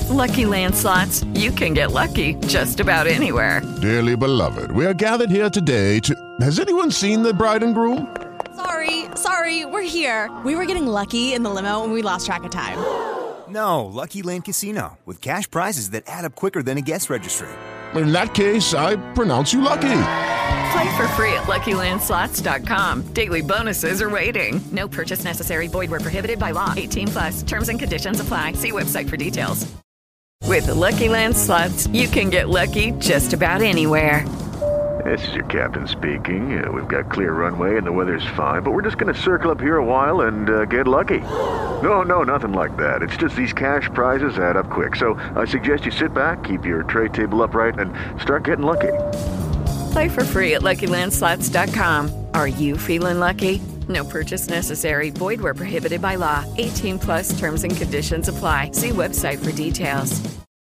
Lucky Land Slots, you can get lucky just about anywhere. Dearly beloved, we are gathered here today to... Has anyone seen the bride and groom? Sorry, we're here. We were getting lucky in the limo and we lost track of time. No, Lucky Land Casino, with cash prizes that add up quicker than a guest registry. In that case, I pronounce you lucky. Play for free at LuckyLandSlots.com. Daily bonuses are waiting. No purchase necessary. Void where prohibited by law. 18+. Terms and conditions apply. See website for details. With the Lucky Land Slots, you can get lucky just about anywhere. This is your captain speaking. We've got clear runway and the weather's fine, but we're just going to circle up here a while and get lucky. No, nothing like that. It's just these cash prizes add up quick. So I suggest you sit back, keep your tray table upright, and start getting lucky. Play for free at LuckyLandSlots.com. Are you feeling lucky? No purchase necessary. Void where prohibited by law. 18+ terms and conditions apply. See website for details.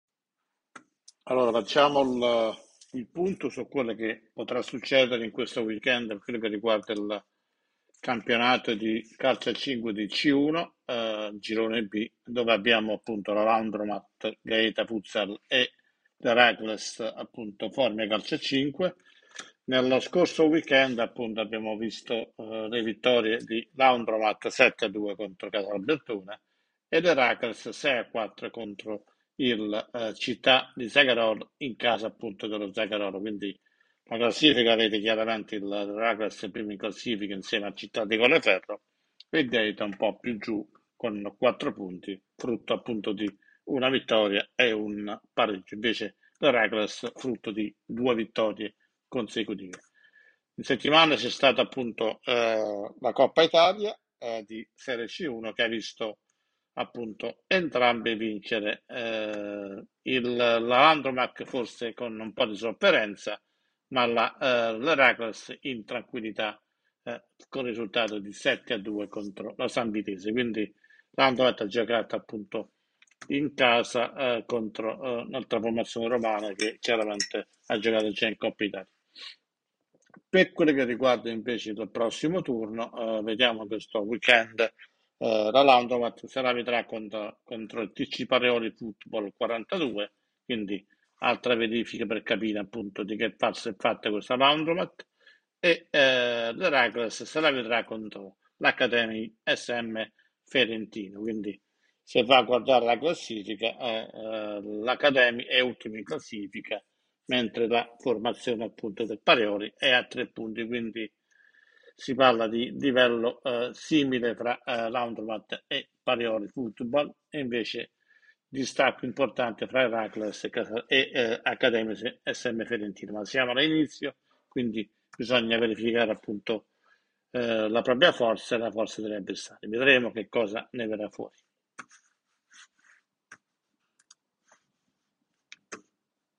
Allora, facciamo il punto su quello che potrà succedere in questo weekend per quello che riguarda il campionato di calcio a 5 di C1, girone B, dove abbiamo appunto la Laundromat, Gaeta Futsal e l'Heracles, appunto Formia Calcio a 5. Nello scorso weekend appunto abbiamo visto le vittorie di Laundromat 7-2 contro Casalbertone ed Heracles 6-4 contro il Città di Zagarolo in casa appunto dello Zagarolo. Quindi la classifica vede chiaramente il Heracles primo in classifica insieme a Città di Colleferro e Gaeta un po' più giù con 4 punti, frutto appunto di una vittoria e un pareggio. Invece l'Heracles frutto di 2 vittorie consecutive. In settimana c'è stata appunto la Coppa Italia di Serie C1 che ha visto appunto entrambe vincere, la Landromac forse con un po' di sofferenza, ma l'Heracles in tranquillità con il risultato di 7-2 contro la San Vitese. Quindi l'Andromac ha giocato appunto in casa contro un'altra formazione romana che chiaramente ha giocato già in Coppa Italia. Per quello che riguarda invece il prossimo turno, vediamo questo weekend la Laundromat se la vedrà contro il TC Pareoli Football 42, quindi altra verifica per capire appunto di che pazzo è fatta questa Laundromat, e l'Heracles se la vedrà contro l'Academy SM Ferentino. Quindi se va a guardare la classifica, l'Academy è ultima in classifica, mentre la formazione appunto del Pareoli è a 3 punti, quindi si parla di livello simile fra Laundromat e Pareoli Football, e invece distacco importante fra Heracles e Accademia SM Ferentino. Ma siamo all'inizio, quindi bisogna verificare appunto la propria forza e la forza degli avversari. Vedremo che cosa ne verrà fuori.